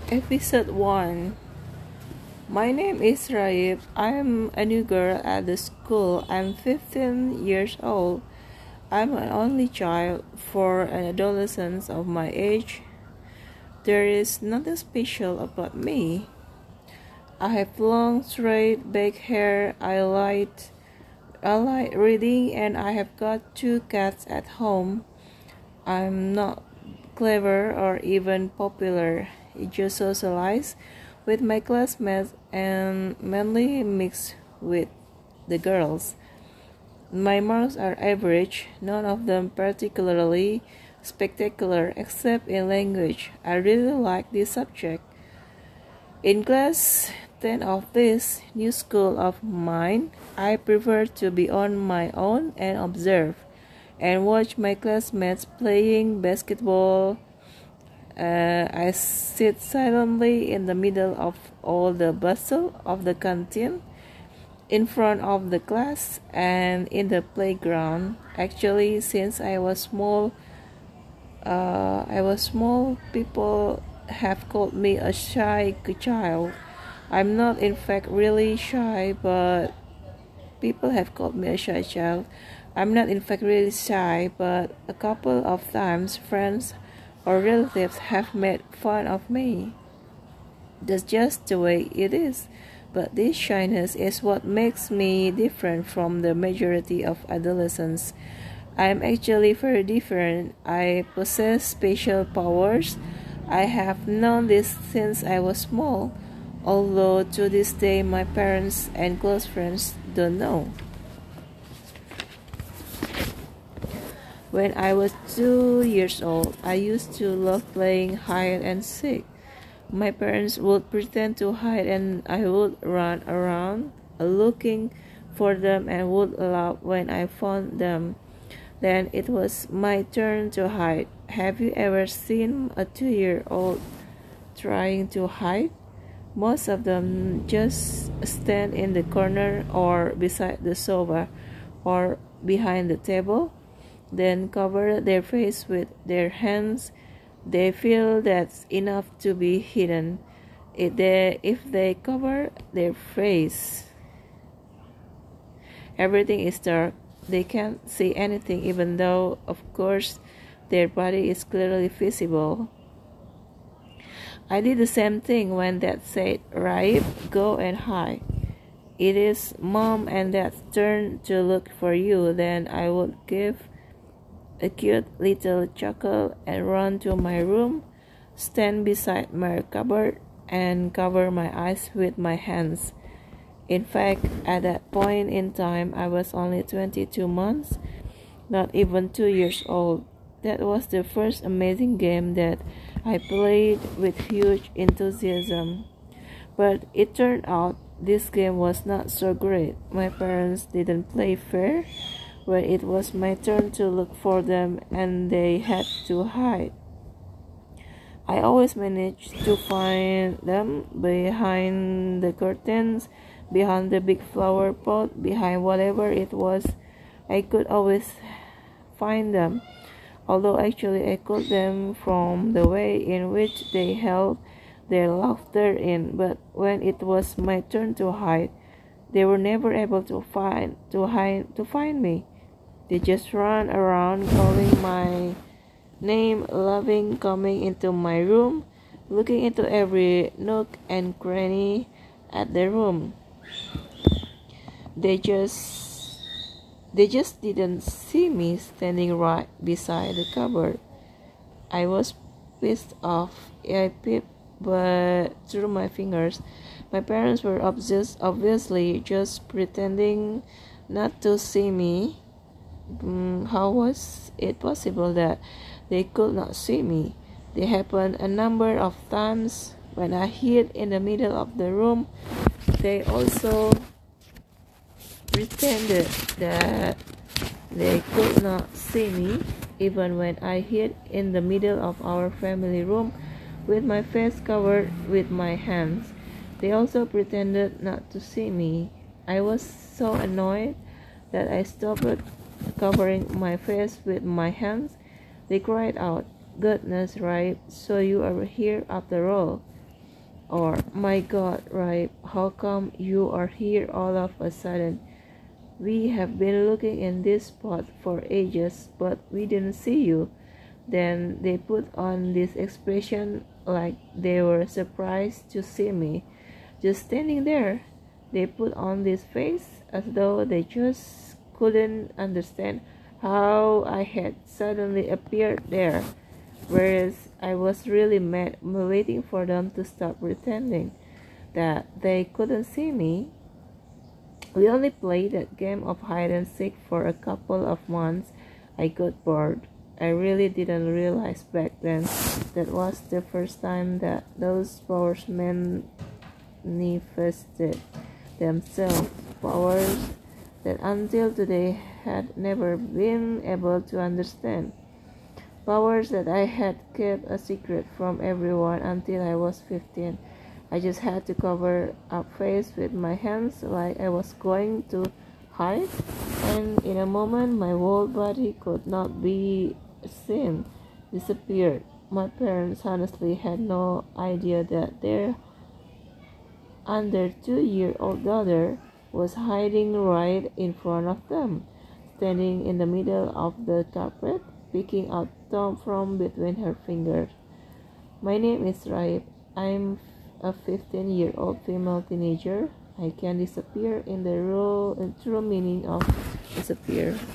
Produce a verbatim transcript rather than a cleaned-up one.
Episode one. My name is Raib. I'm a new girl at the school. I'm fifteen years old. I'm an only child for an adolescent of my age. There is nothing special about me. I have long, straight back hair. I like, I like reading, and I have got two cats at home. I'm not clever or even popular. I just socialize with my classmates and mainly mix with the girls. My marks are average, none of them particularly spectacular except in language. I really like this subject. In class ten of this new school of mine, I prefer to be on my own and observe and watch my classmates playing basketball. Uh, I sit silently in the middle of all the bustle of the canteen, in front of the class, and in the playground. Actually, since I was small, uh, I was small, people have called me a shy child. I'm not, in fact, really shy, but people have called me a shy child. I'm not, in fact, really shy, but a couple of times friends or relatives have made fun of me. That's just the way it is. But this shyness is what makes me different from the majority of adolescents. I'm actually very different. I possess special powers. I have known this since I was small, although to this day my parents and close friends don't know. When I was two years old, I used to love playing hide and seek. My parents would pretend to hide and I would run around looking for them and would laugh when I found them. Then it was my turn to hide. Have you ever seen a two-year-old trying to hide? Most of them just stand in the corner or beside the sofa or behind the table, then cover their face with their hands. They feel that's enough to be hidden. If they, if they cover their face, everything is dark. They can't see anything, even though, of course, their body is clearly visible. I did the same thing when Dad said, "Raib, go and hide. It is Mom and Dad's turn to look for you." Then I would give a cute little chuckle and run to my room, stand beside my cupboard, and cover my eyes with my hands. In fact, at that point in time, I was only twenty-two months, not even two years old. That was the first amazing game that I played with huge enthusiasm. But it turned out this game was not so great. My parents didn't play fair when it was my turn to look for them and they had to hide. I always managed to find them behind the curtains, behind the big flower pot, behind whatever it was. I could always find them, although actually I caught them from the way in which they held their laughter in. But when it was my turn to hide, they were never able to find to hide to find me. They just ran around calling my name, loving coming into my room, looking into every nook and cranny at the room. They just they just didn't see me standing right beside the cupboard. I was pissed off. I peeped but through my fingers. My parents were obvious, obviously just pretending not to see me. Mm, how was it possible that they could not see me? They happened a number of times when I hid in the middle of the room. They also pretended that they could not see me, even when I hid in the middle of our family room with my face covered with my hands. They also pretended not to see me. I was so annoyed that I stopped covering my face with my hands. They cried out, "Goodness, right, so you are here after all." Or, my God, Raib, how come you are here all of a sudden? We have been looking in this spot for ages, but we didn't see you. Then they put on this expression like they were surprised to see me. Just standing there, they put on this face as though they just couldn't understand how I had suddenly appeared there, whereas I was really mad, waiting for them to stop pretending that they couldn't see me. We only played that game of hide and seek for a couple of months. I got bored. I really didn't realize back then that was the first time that those powers manifested themselves. Powers that until today had never been able to understand. Powers that I had kept a secret from everyone until I was fifteen. I just had to cover up face with my hands like I was going to hide, and in a moment my whole body could not be seen, disappeared. My parents honestly had no idea that their under two-year-old daughter was hiding right in front of them, standing in the middle of the carpet, picking out Tom from between her fingers. My name is Raib. I'm a fifteen-year-old female teenager. I can disappear in the real, true meaning of disappear.